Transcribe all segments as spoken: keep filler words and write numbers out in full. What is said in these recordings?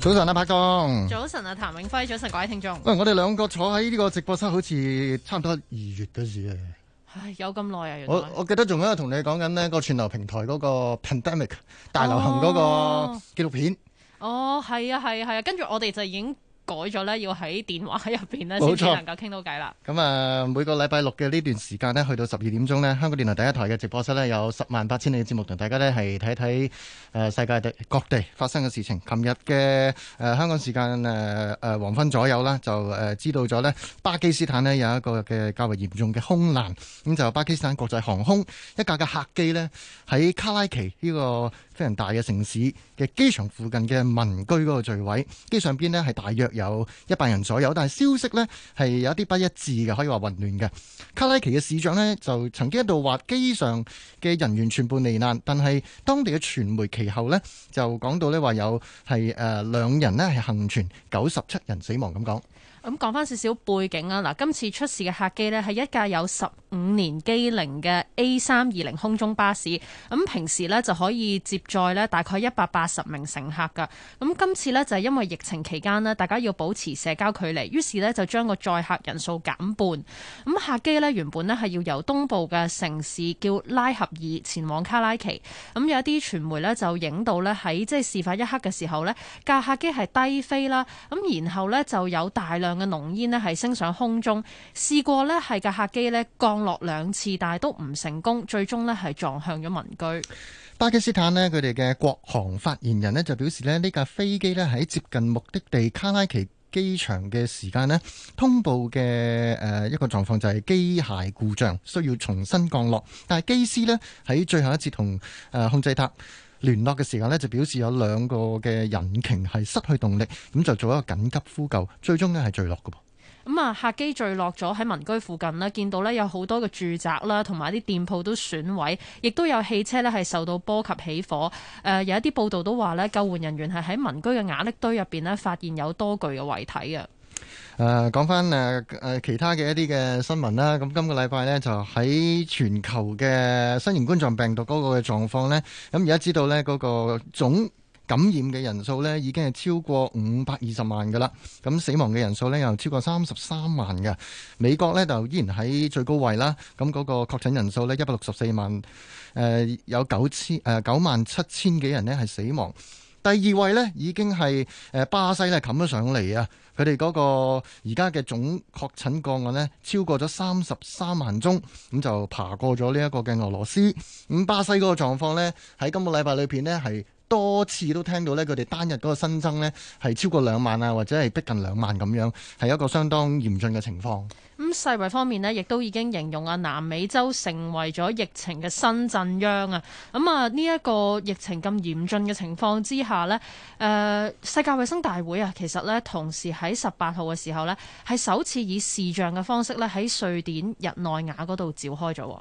早晨啊，柏東。 早晨啊，譚永輝。早晨，各位聽眾。 喂，我哋兩個坐喺呢個直播室，好似差唔多二月嗰時啊。 唉，有咁耐啊！原來我我記得仲喺度同你講緊呢個串流平台嗰個 Pandemic 大流行嗰個紀錄片。 哦，係啊，係啊，係啊，跟住我哋就已經改咗咧，要喺電話入邊咧先至能夠傾到偈啦。 咁啊，每個禮拜六嘅呢段時間呢，去到十二點鐘呢，香港電台第一台嘅直播室呢，有十萬八千里嘅節目，同大家呢係睇睇誒世界地各地發生嘅事情。琴日嘅誒香港時間誒誒黃昏左右啦，就誒、呃、知道咗呢巴基斯坦呢有一個嘅較為嚴重嘅空難，咁就巴基斯坦國際航空一架嘅客機呢，喺卡拉奇呢個非常大嘅城市嘅機場附近嘅民居嗰個墜毀，機上邊呢係大約有一百人左右，但係消息呢係有一啲不一致嘅，可以話混亂嘅。卡拉奇嘅市長呢就曾經一度話機上嘅人員全部罹難，但係當地嘅傳媒其後呢就講到呢話有係誒兩人呢係幸存，九十七人死亡咁講。 咁講翻少少背景啊，嗱，今次出事嘅客機呢係一架有十五年機齡嘅 A 三二零空中巴士，咁平時呢就可以接載呢大概一百八十名乘客噶。咁今次呢就係因為疫情期間呢，大家要保持社交距離，於是呢就將個載客人數減半。咁客機呢原本呢係要由東部嘅城市叫拉合爾前往卡拉奇。咁有一啲傳媒呢就影到呢喺即係事發一刻嘅時候呢，架客機係低飛啦，咁然後呢就有大量嘅濃煙呢係升上空中，試過呢係架客機呢降落兩次，但係都唔成功，最終呢係撞向咗民居。 巴基斯坦呢，佢哋嘅國航發言人呢就表示呢，呢架飛機呢喺接近目的地卡拉奇機場嘅時間呢，通報嘅誒一個狀況就係機械故障，需要重新降落。但係機師呢喺最後一次同誒控制塔聯絡嘅時間呢，就表示有兩個嘅引擎係失去動力，咁就做一個緊急呼救，最終呢係墜落嘅噃。 咁啊，客機墜落咗喺民居附近呢，見到呢有好多嘅住宅啦，同埋啲店鋪都損毀，亦都有汽車呢係受到波及起火。誒、呃，有一啲報道都話呢，救援人員係喺民居嘅瓦礫堆入邊呢發現有多具嘅遺體啊。 誒講翻誒誒其他嘅一啲嘅新聞啦，咁今個禮拜呢，就喺全球嘅新型冠狀病毒嗰個嘅狀況呢。咁而家知道呢，嗰個總感染嘅人數呢已經係超過五百二十萬㗎啦，咁死亡嘅人數呢又超過三十三萬嘅。美國呢就依然喺最高位啦，咁嗰個確診人數呢，一百六十四萬，誒、呃、有九千誒九萬七千幾人呢係死亡。第二位呢已經係誒巴西呢冚咗上嚟啊！佢哋嗰個而家嘅總確診個案呢，超過咗三十三萬宗，咁就爬過咗呢一個嘅俄羅斯。咁巴西嗰個狀況呢，喺今個禮拜裏邊呢，係多次都聽到呢，佢哋單日嗰個新增呢係超過兩萬啊，或者係逼近兩萬咁樣，係一個相當嚴峻嘅情況。 咁世衛方面呢，亦都已經形容啊南美洲成為咗疫情嘅新震央啊！咁啊呢一個疫情咁嚴峻嘅情況之下呢，誒、呃、世界衛生大會啊，其實呢同時喺十八號嘅時候呢，係首次以視像嘅方式呢喺瑞典日內瓦嗰度召開咗。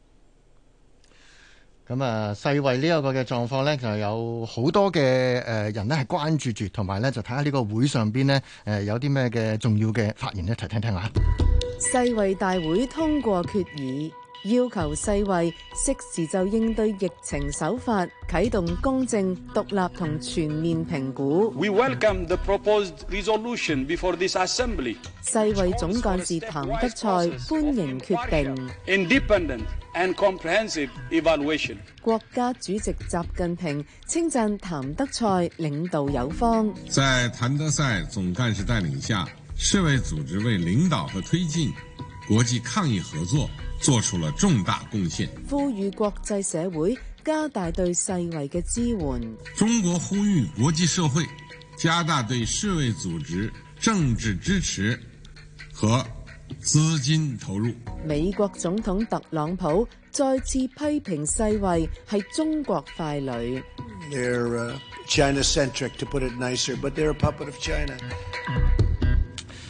咁啊，世衛呢一個嘅狀況呢，就有好多嘅誒人呢係關注住，同埋呢就睇下呢個會上邊呢誒有啲咩嘅重要嘅發言一齊聽聽下。 世衛大會通過決議，要求世衛適時就應對疫情手法啟動公正、獨立同全面評估。 We welcome the proposed resolution before this assembly. 世衛總幹事譚德塞歡迎決定。 Independent and comprehensive evaluation. 國家主席習近平稱讚譚德塞領導有方。 在譚德塞總幹事帶領下，世衛組織為領導和推進國際抗疫合作做出了重大貢獻， 呼籲國際社會加大對世衛嘅支援。 中國呼籲國際社會加大對世衛組織政治支持和資金投入。 美國總統特朗普再次批評世衛係中國傀儡。 They're uh, China-centric, to put it nicer, but they're a puppet of China.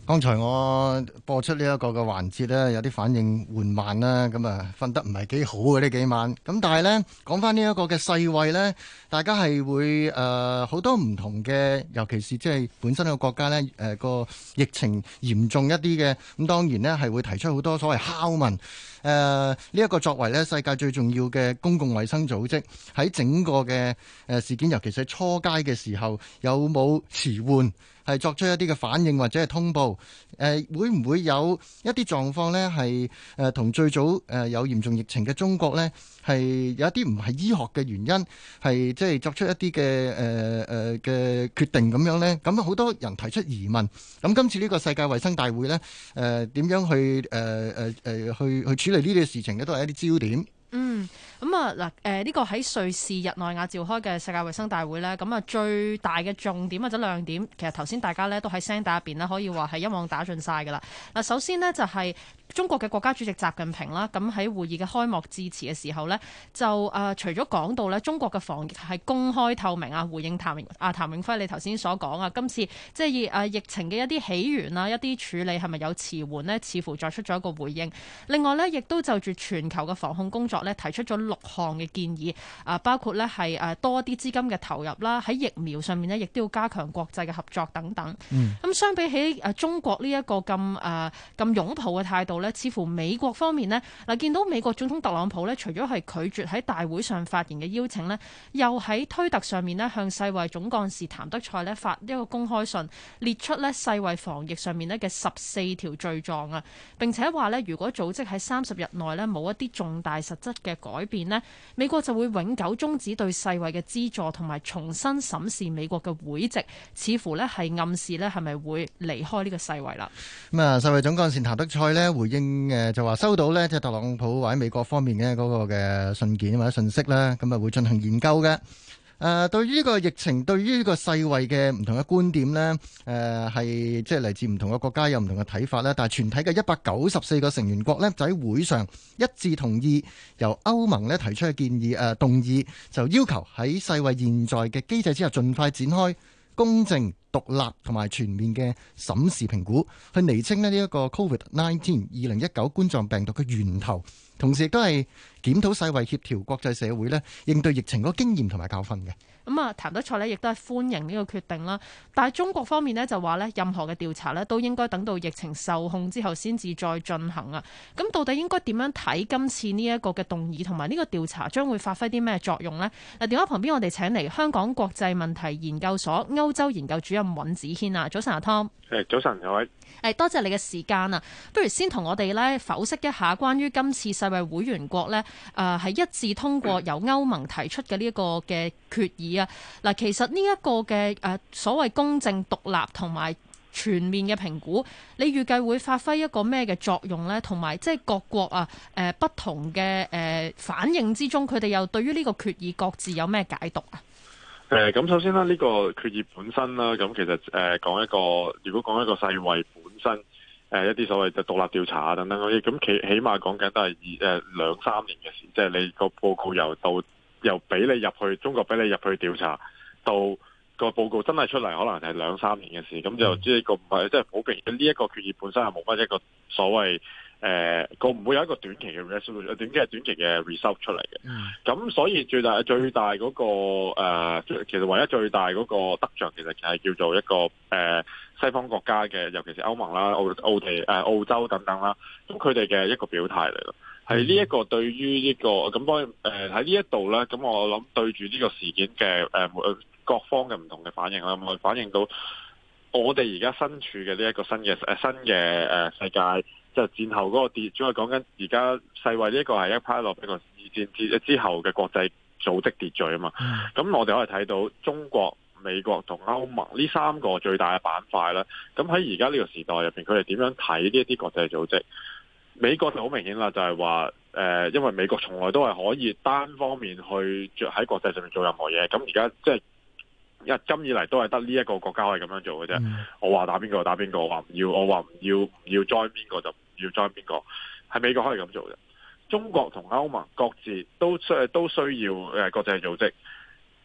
剛才我播出呢一個嘅環節呢，有啲反應緩慢啦，咁啊瞓得唔係幾好嘅呢幾晚。咁但係呢，講翻呢一個嘅世衛呢，大家係會誒好、呃、多唔同嘅，尤其是即係本身個國家呢，誒、呃、個疫情嚴重一啲嘅，咁當然呢係會提出好多所謂拷問。誒呢一個作為呢世界最重要嘅公共衛生組織，喺整個嘅誒事件，尤其是初階嘅時候，有冇遲緩？係作出一啲嘅反應或者係通報，誒、呃、會唔會有一啲狀況呢？係誒同最早誒、呃、有嚴重疫情嘅中國呢，係有一啲唔係醫學嘅原因，係即係作出一啲嘅誒誒嘅決定咁樣呢？咁好多人提出疑問。咁今次呢個世界衛生大會呢，誒、呃、點樣去誒誒誒去去處理呢啲事情呢？都係一啲焦點。 嗯，咁啊嗱，誒呢個喺瑞士日內瓦召開嘅世界衛生大會咧，咁啊最大嘅重點或者亮點，其實頭先大家咧都喺聲帶入邊咧，可以話係一網打盡晒噶啦。嗱，首先呢，就係中國嘅國家主席習近平啦，咁喺會議嘅開幕致辭嘅時候呢，就誒、呃、除咗講到咧中國嘅防疫係公開透明啊，回應譚啊譚永輝你頭先所講啊，今次即係誒疫情嘅一啲起源啊，一啲處理係咪有遲緩呢？似乎作出咗一個回應。另外呢，亦都就住全球嘅防控工作咧提出咗六項嘅建議，啊包括咧係誒多啲資金嘅投入啦，喺疫苗上面咧亦都要加強國際嘅合作等等。咁、嗯、相比起誒中國呢一個咁誒咁擁抱嘅態度咧，似乎美國方面咧嗱見到美國總統特朗普咧，除咗係拒絕喺大會上發言嘅邀請咧，又喺推特上面咧向世衛總幹事譚德塞咧發一個公開信，列出咧世衛防疫上面咧嘅十四條罪狀啊，並且話咧如果組織喺三十日內咧冇一啲重大實質嘅改變呢，美國就會永久終止對世衛嘅資助，同埋重新審視美國嘅會籍，似乎呢係暗示呢係咪會離開呢個世衛啦？ 咁啊，世衛總幹事譚德塞呢回應誒就話收到呢，即係特朗普或者美國方面嘅嗰個嘅信件或者信息啦，咁啊會進行研究嘅。誒、呃，對於呢個疫情，對於呢個世衛嘅唔同嘅觀點呢，誒係即係嚟自唔同嘅國家有唔同嘅睇法啦。但係全體嘅一百九十四個成員國呢，就喺會上一致同意由歐盟呢提出嘅建議，誒、呃、動議就要求喺世衛現在嘅機制之下，盡快展開公正、獨立同埋全面嘅審視評估，去釐清呢一個 Covid 十九 二零一九冠狀病毒嘅源頭，同時亦都係檢討世衛協調國際社會呢應對疫情嗰個經驗同埋教訓嘅。 咁啊，譚德塞呢亦都係歡迎呢個決定啦。但係中國方面呢就話呢，任何嘅調查呢都應該等到疫情受控之後先至再進行啊。咁到底應該點樣睇今次呢一個嘅動議同埋呢個調查將會發揮啲咩作用呢？嗱，電話旁邊我哋請嚟香港國際問題研究所歐洲研究主任尹子軒啊，早晨阿 Tom。 誒，早晨各位。 誒，多謝你嘅時間啊！不如先同我哋咧剖析一下關於今次世衛會員國咧，誒、呃、係一致通過由歐盟提出嘅呢一個嘅決議啊。嗱，其實呢一個嘅誒、呃、所謂公正、獨立同埋全面嘅評估，你預計會發揮一個咩嘅作用咧？同埋即係各國啊誒、呃、不同嘅誒、呃、反應之中，佢哋又對於呢個決議各自有咩解讀啊？ 誒，咁首先啦，呢個決議本身啦，咁其實誒講一個，如果講一個世衛本身誒一啲所謂嘅獨立調查啊等等嗰啲，咁起起碼講緊都係二誒兩三年嘅事，即係你個報告由到由俾你入去中國俾你入去調查，到個報告真係出嚟，可能係兩三年嘅事，咁就即係個唔係即係好明顯呢一個決議本身係冇乜一個所謂。誒個唔會有一個短期嘅 resolution，短期係短期嘅 result 出嚟嘅。咁、嗯、所以最大最大嗰、那個、呃、其實唯一最大嗰個得着，其實係叫做一個誒、呃、西方國家嘅，尤其是歐盟啦、澳澳地誒、呃、澳洲等等啦。咁佢哋嘅一個表態嚟咯，係呢一個對於呢、這個咁當然誒喺呢一度咧，咁我諗對住呢個事件嘅誒、呃、各方嘅唔同嘅反應啦，我反映到我哋而家身處嘅呢一個新嘅誒、呃、新嘅誒、呃、世界。就戰後嗰個秩序，主要係講緊而家世衛呢個係一派落一個二戰之之後嘅國際組織秩序啊嘛。咁、嗯、我哋可以睇到中國、美國同歐盟呢三個最大嘅板塊啦。咁喺而家呢個時代入邊，佢哋點樣睇呢一啲國際組織？美國就好明顯啦，就係話誒，因為美國從來都係可以單方面去喺國際上面做任何嘢。咁而家即係。一今以嚟都係得呢一個國家可以咁樣做嘅啫。嗯、我話打邊個就打邊個，我話唔要，我話唔要唔要 join 邊個就唔要 join 邊個。係美國可以咁做嘅。中國同歐盟各自都需都需要誒國際組織。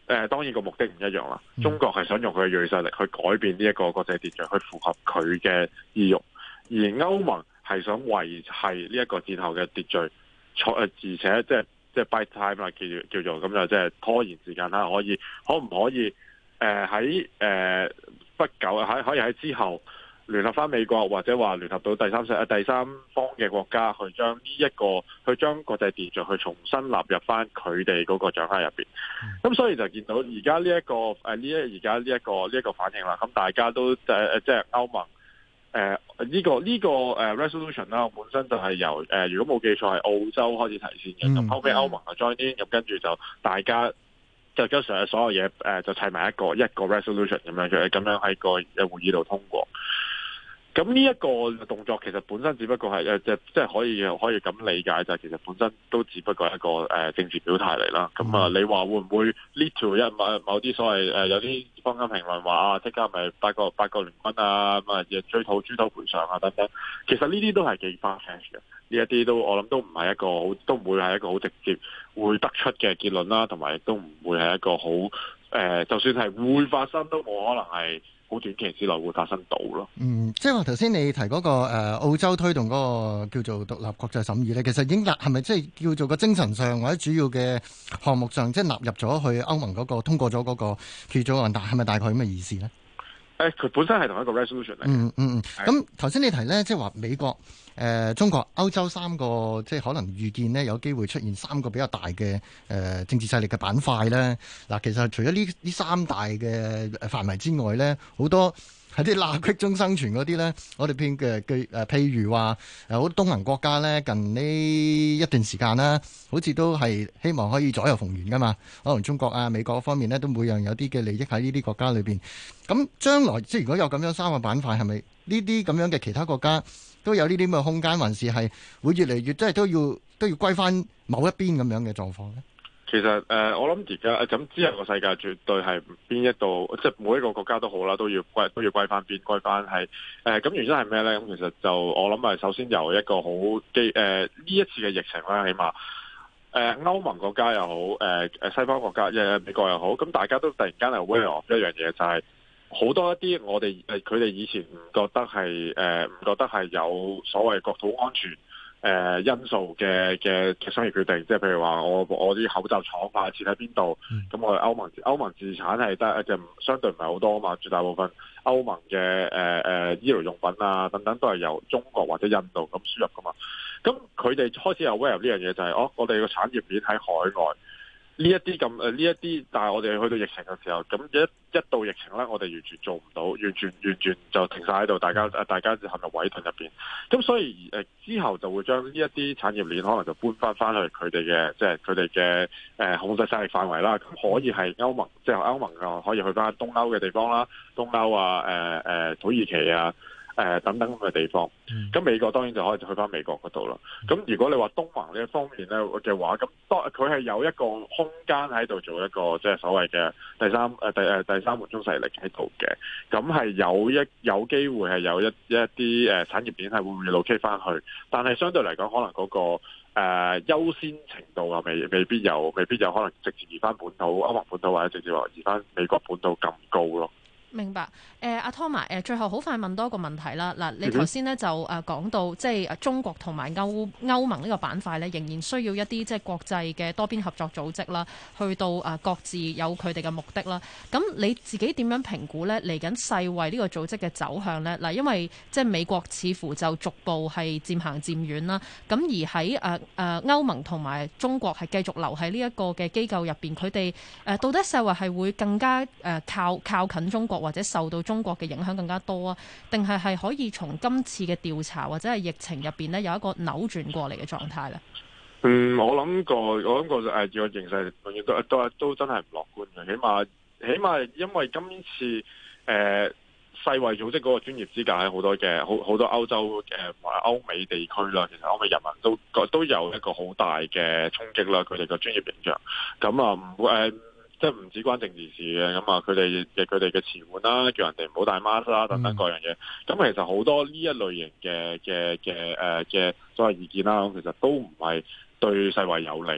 誒當然個目的唔一樣啦。中國係想用佢嘅銳實力去改變呢一個國際秩序，去符合佢嘅意欲，而歐盟係想維繫呢一個戰後嘅秩序，誒而且即係即係 buy time 啦，叫叫做咁就即係拖延時間啦，可以可唔可以誒喺誒不久喺可以喺之後聯合翻美國或者話聯合到第三世第三方嘅國家去將呢一個去將國際秩序去重新納入翻佢哋嗰個掌握入邊，咁、嗯、所以就見到而家呢一個誒呢一而家呢一個呢一、這個反應啦，咁大家都誒誒即係歐盟誒呢、呃這個呢、這個誒 resolution 啦，本身就係由誒、呃、如果冇記錯係澳洲開始提先嘅，咁、嗯、後尾歐盟就 join in，咁跟住就大家。就將上所有嘢誒、呃、就砌埋一個一個 resolution 咁樣嘅，咁樣喺個誒會議度通過。咁呢一個動作其實本身只不過係誒即即係可以可以咁理解，就係其實本身都只不過係一個誒、呃、政治表態嚟啦。咁啊、呃，你話會唔會 lead to 一某某啲所謂誒、呃、有啲坊間評論話啊，即刻咪八個八個聯軍啊咁啊，追討豬頭賠償啊等等。其實呢啲都係幾 far-fetched 嘅。呢一啲都我諗都唔係一個好，都唔會係一個好直接會得出嘅結論啦，同埋亦都唔會係一個好誒、呃，就算係會發生都冇可能係好短期之內會發生到咯。嗯， 即係話頭先你提嗰、那個誒、呃、澳洲推動嗰個叫做獨立國際審議咧，其實已經納係咪即係叫做個精神上或者主要嘅項目上，即係納入咗去歐盟嗰、那個通過咗嗰個決議案，但係咪大概咁嘅意思咧？ 誒，佢本身係同一個 resolution 嚟。 嗯嗯嗯。咁頭先你提咧，即係話美國、誒、呃、中國、歐洲三個，即係可能預見呢有機會出現三個比較大嘅誒、呃、政治勢力嘅板塊咧。嗱，其實除咗呢呢三大嘅範圍之外咧，好多喺啲罅隙中生存嗰啲咧，我哋偏嘅嘅誒，譬如話誒好多東盟國家咧，近呢一段時間啦，好似都係希望可以左右逢源噶嘛。可能中國啊、美國方面咧，都每樣有啲嘅利益喺呢啲國家裏邊。咁將來即係如果有咁樣三個板塊，係咪呢啲咁樣嘅其他國家都有呢啲咁嘅空間，還是係會越嚟越即係都要都要歸翻某一邊咁樣嘅狀況咧？ 其實誒、呃，我諗而家咁之後個世界絕對係邊一度，即係每一個國家都好啦，都要歸都要歸翻邊，歸翻係誒。咁、呃、原因係咩咧？咁其實就我諗係首先由一個好基誒呢一次嘅疫情啦，起碼誒歐盟國家又好，誒、呃、誒西方國家，誒美國又好，咁大家都突然間係 aware of 一樣嘢，就係、是、好多一啲我哋誒佢哋以前唔覺得係誒唔覺得係有所謂國土安全。誒、呃、因素嘅嘅嘅商業決定，即係譬如話我我啲口罩廠啊設喺邊度，咁、嗯、我哋歐盟歐盟自產係得就相對唔係好多啊嘛，絕大部分歐盟嘅誒誒醫療用品啊等等都係由中國或者印度咁輸入噶嘛，咁佢哋開始有 aware 呢樣嘢就係、是、哦，我哋個產業鏈喺海外。呢一啲咁誒，呢一啲，但係我哋去到疫情嘅時候，咁一一到疫情咧，我哋完全做唔到，完全完全就停晒喺度，大家誒大家就陷入圍屯入邊。咁所以誒之後就會將呢一啲產業鏈可能就搬翻翻去佢哋嘅，即係佢哋嘅誒控制勢力範圍啦。咁可以係歐盟，即係歐盟啊，可以去翻東歐嘅地方啦，東歐啊，誒、呃、誒、呃、土耳其啊。誒、呃、等等咁嘅地方，咁美國當然就可以去翻美國嗰度啦。咁如果你話東盟呢一方面咧嘅話，咁當佢係有一個空間喺度做一個即係所謂嘅第三誒、呃、第誒第三門中勢力喺度嘅，咁係有一有機會係有一一啲誒產業鏈係會 relocate 翻去，但係相對嚟講，可能嗰、那個誒、呃、優先程度啊，未未必有，未必有可能直接移翻本土歐盟本土或者直接話移翻美國本土咁高咯。 明白，誒阿 Thomas，誒最後好快問多一個問題啦。嗱，你頭先咧就誒講到，即係中國同埋歐歐盟呢個板塊咧，仍然需要一啲即係國際嘅多邊合作組織啦，去到誒各自有佢哋嘅目的啦。咁你自己點樣評估咧？嚟緊世衛呢個組織嘅走向咧？嗱，因為即係美國似乎就逐步係漸行漸遠啦。咁而喺誒誒歐盟同埋中國係繼續留喺呢一個嘅機構入邊，佢哋誒到底世衛係會更加誒靠靠近中國？或者受到中國嘅影響更加多啊？定係係可以從今次嘅調查或者係疫情入邊咧有一個扭轉過嚟嘅狀態咧？ 嗯，我諗過，我諗過誒，個形勢永遠都都都真係唔樂觀嘅。起碼起碼因為今次誒、呃、世衛組織嗰個專業資格喺好多嘅好好多歐洲嘅或者歐美地區啦，其實歐美人民都都有一個好大嘅衝擊啦。佢哋個專業形象咁啊唔會誒。呃即係唔止關政治事嘅，咁啊佢哋嘅佢哋嘅詞彙啦，叫人哋唔好戴 mask 啦，等等各樣嘢。咁、嗯、其實好多呢一類型嘅嘅嘅誒嘅所謂意見啦，其實都唔係對世衛有利咯。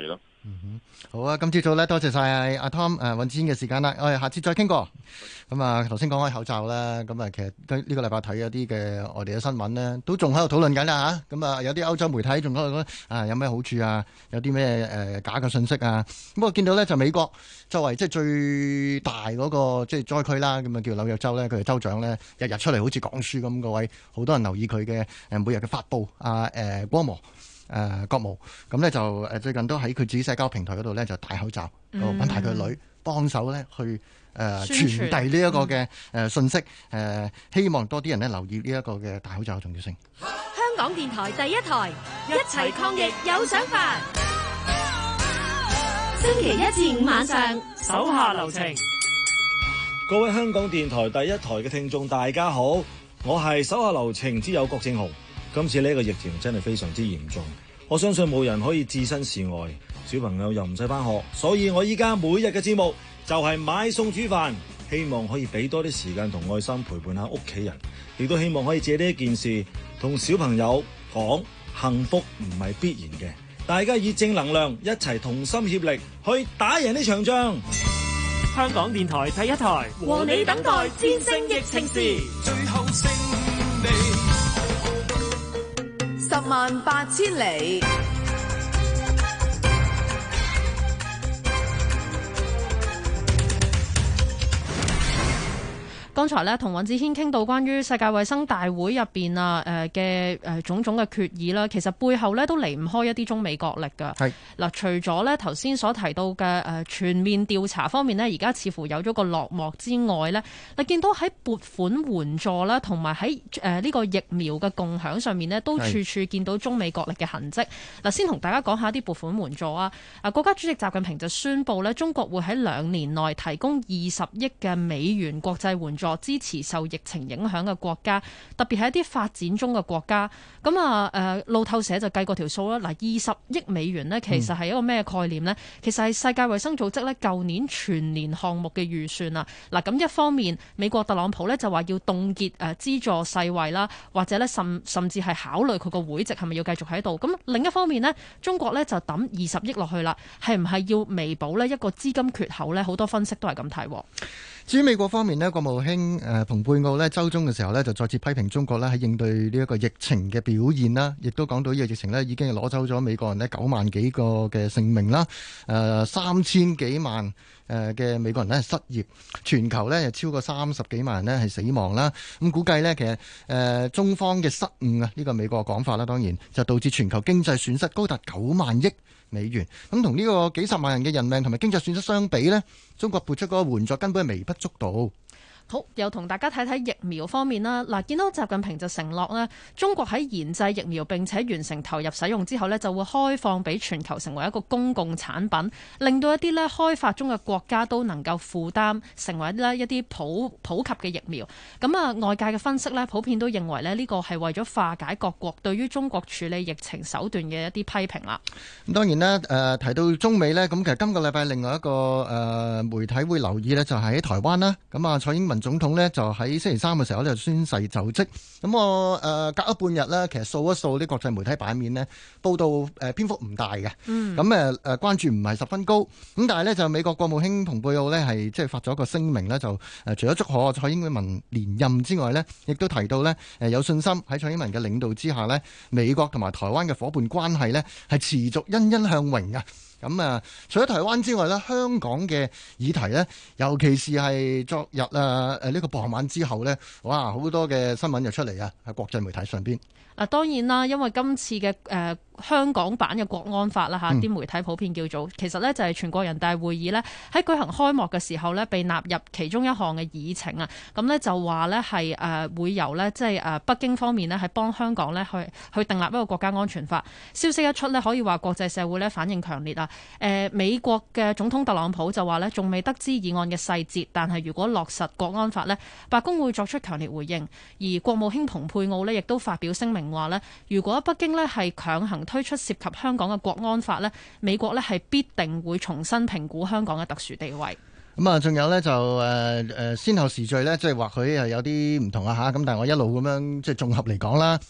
嗯、好啊，今朝早咧，多謝晒阿 Tom 誒、呃、尹子軒嘅時間啦，我哋下次再傾過。咁啊，頭先講開口罩啦，咁啊，其實呢個禮拜睇一啲嘅外地嘅新聞呢，都仲喺度討論緊啦嚇。咁啊，有啲歐洲媒體仲喺度講啊，有咩好處啊？有啲咩誒假嘅信息啊？咁我見到咧就美國作為即係最大嗰個即係災區啦，咁啊叫紐約州咧，佢嘅州長咧日日出嚟好似講書咁，各位好多人留意佢嘅誒每日嘅發布啊誒光模。誒、呃、國務咁咧就誒最近都喺佢自己社交平台嗰度咧就戴口罩，揾埋佢女幫手咧去誒、呃、傳遞呢一個嘅誒信息，誒、呃、希望多啲人咧留意呢一個嘅戴口罩嘅重要性。 香港電台第一台，一齊抗疫有想法。星期一至五晚上， 手下留情。各位香港電台第一台嘅聽眾，大家好，我係手下留情之友郭正雄。今次呢個疫情真係非常之嚴重，我相信冇人可以置身事外，小朋友又唔使返學，所以我依家每日嘅節目就係買餸煮飯，希望可以俾多啲時間同愛心陪伴下屋企人，亦都希望可以借呢一件事同小朋友講，幸福唔係必然嘅，大家以正能量一齊同心協力去打贏呢場仗。 香港電台第一台， 和你等待戰勝疫情時， 最後勝利。 十萬八千里。 剛才咧同尹子軒傾到關於世界衛生大會入邊啊誒嘅誒種種嘅決議啦，其實背後咧都離唔開一啲中美角力㗎。係嗱，除咗咧頭先所提到嘅誒全面調查方面呢，而家似乎有咗個落幕之外咧，你見到喺撥款援助啦，同埋喺誒呢個疫苗嘅共享上面呢，都處處見到中美角力嘅痕跡。嗱，先同大家講下啲撥款援助啊。啊，國家主席習近平就宣布咧，中國會喺兩年內提供二十億嘅美元國際援助，支持受疫情影響嘅國家，特別係一啲發展中嘅國家。咁啊，誒路透社就計過條數啦。嗱，二十億美元呢，其實係一個咩概念呢？嗯、其實係世界衛生組織呢舊年全年項目嘅預算啊。嗱，咁一方面，美國特朗普呢就話要凍結誒資助世衛啦，或者呢甚甚至係考慮佢個會籍係咪要繼續喺度。咁另一方面呢，中國呢就抌二十億落去啦，係唔係要彌補呢一個資金缺口呢？好多分析都係咁睇。 至於美國方面呢，國務卿誒蓬佩奧呢週中嘅時候呢，就再次批評中國呢喺應對呢一個疫情嘅表現啦，亦都講到呢個疫情呢已經係攞走咗美國人呢九萬幾個嘅性命啦，誒三千幾萬誒嘅美國人呢失業，全球呢超過三十幾萬人呢係死亡啦。咁估計呢，其實誒中方嘅失誤啊，呢個美國嘅講法啦，當然就導致全球經濟損失高達九萬億美元。咁同呢個幾十萬人嘅人命同埋經濟損失相比呢，中國撥出嗰個援助根本係微不足道。 好，又同大家睇睇疫苗方面啦。嗱，見到習近平就承諾咧，中國喺研製疫苗並且完成投入使用之後呢，就會開放俾全球成為一個公共產品，令到一啲咧開發中嘅國家都能夠負擔，成為咧一啲普普及嘅疫苗。咁啊，外界嘅分析呢，普遍都認為咧呢個係為咗化解各國對於中國處理疫情手段嘅一啲批評啦。 咁當然啦，誒、呃、提到中美呢，咁其實今個禮拜另外一個誒、呃、媒體會留意呢，就係喺台灣啦。咁啊，蔡英文總統呢就喺星期三嘅時候呢就宣誓就職。咁我誒、呃、隔咗半日呢，其實掃一掃啲國際媒體版面呢，報道誒、呃、篇幅唔大嘅。咁誒誒關注唔係十分高。咁但係呢，就美國國務卿蓬佩奧呢係即係發咗一個聲明呢，就誒、呃、除咗祝賀蔡英文連任之外呢，亦都提到呢，誒、呃、有信心喺蔡英文嘅領導之下呢，美國同埋台灣嘅伙伴關係呢係持續欣欣向榮嘅。咁啊，除咗台灣之外咧，香港嘅議題咧，尤其是係昨日啊誒呢個傍晚之後咧，哇好多嘅新聞就出嚟啊，喺國際媒體上邊。 嗱，當然啦，因為今次嘅誒、呃、香港版嘅國安法啦嚇，啲、嗯、媒體普遍叫做，其實呢就係全國人大會議呢喺舉行開幕嘅時候呢，被納入其中一項嘅議程啊。咁呢就話呢係誒會由呢即係誒北京方面呢係幫香港呢去去訂立一個國家安全法。消息一出呢，可以話國際社會呢反應強烈啊。誒、呃、美國嘅總統特朗普就話呢仲未得知議案嘅細節，但係如果落實國安法呢，白宮會作出強烈回應。而國務卿蓬佩奧呢亦都發表聲明話呢，如果北京呢係強行推出涉及香港嘅國安法呢，美國呢係必定會重新評估香港嘅特殊地位。 咁啊，仲有呢，就誒誒先後時序呢，即係或許係有啲唔同啊嚇。咁但係我一路咁樣即係綜合嚟講啦。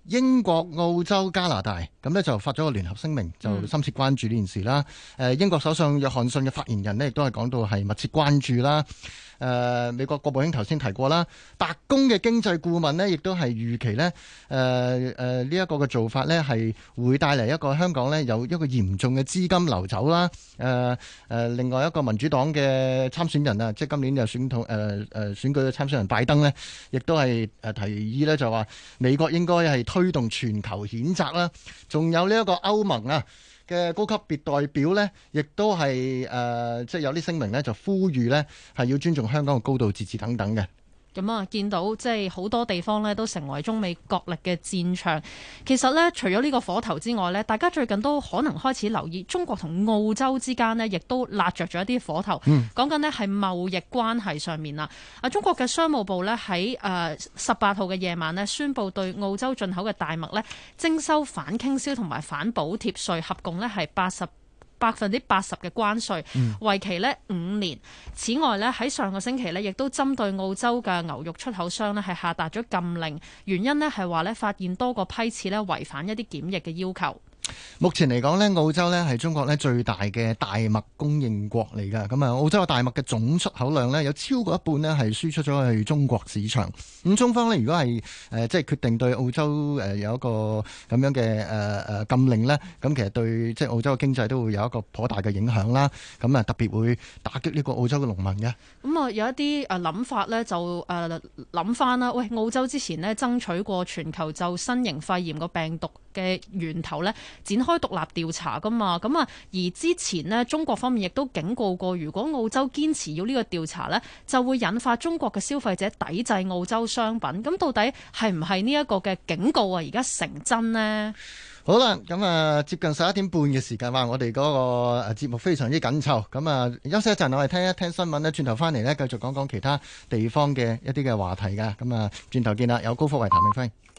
英國、澳洲、加拿大咁呢就發咗個聯合聲明，就深切關注呢件事啦。誒、嗯，英國首相約翰遜嘅發言人呢亦都係講到係密切關注啦。誒、呃，美國國務卿頭先提過啦，白宮嘅經濟顧問呢亦都係預期呢誒誒呢一個嘅做法呢係會帶嚟一個香港呢有一個嚴重嘅資金流走啦。誒、呃、誒、呃，另外一個民主黨嘅參選人啊，即係今年就選統誒誒選舉嘅參選人拜登呢，亦都係誒提議呢就話美國應該係推動全球譴責啦。仲有呢一個歐盟啊嘅高級別代表呢，亦都係誒、呃，即係有啲聲明呢，就呼籲呢係要尊重香港嘅高度自治等等嘅。 咁啊，見到即係好多地方呢都成為中美角力嘅戰場。其實呢，除咗呢個火頭之外呢，大家最近都可能開始留意中國同澳洲之間呢，亦都焫着咗一啲火頭。嗯、講緊呢係貿易關係上面啦。啊，中國嘅商務部呢喺誒十八號嘅夜晚呢宣布對澳洲進口嘅大麥呢徵收反傾銷同埋反補貼稅，合共呢係八十。百分之八十嘅關稅，為期呢五年。此外呢，喺上個星期呢，亦都針對澳洲嘅牛肉出口商呢係下達咗禁令，原因呢係話呢發現多個批次呢違反一啲檢疫嘅要求。 目前嚟講呢，澳洲呢係中國呢最大嘅大麥供應國嚟㗎。咁啊，澳洲嘅大麥嘅總出口量呢，有超過一半呢係輸出咗去中國市場。咁中方呢，如果係誒、呃、即係決定對澳洲誒有一個咁樣嘅誒誒禁令呢，咁其實對即係澳洲嘅經濟都會有一個頗大嘅影響啦。咁啊，特別會打擊呢個澳洲嘅農民嘅。咁啊，有一啲誒諗法呢，就誒諗翻啦。喂，澳洲之前呢爭取過全球就新型肺炎個病毒嘅源頭呢展開獨立調查噶嘛，咁啊，而之前呢，中國方面亦都警告過，如果澳洲堅持要呢個調查呢，就會引發中國嘅消費者抵制澳洲商品。咁到底係唔係呢一個嘅警告啊？而家成真呢？ 好啦，咁啊，接近十一點半嘅時間，話我哋嗰個節目非常之緊湊，咁啊，休息一陣，我哋聽一聽新聞呢，轉頭翻嚟呢，繼續講講其他地方嘅一啲嘅話題噶，咁啊，轉頭見啦，有高福為譚永輝。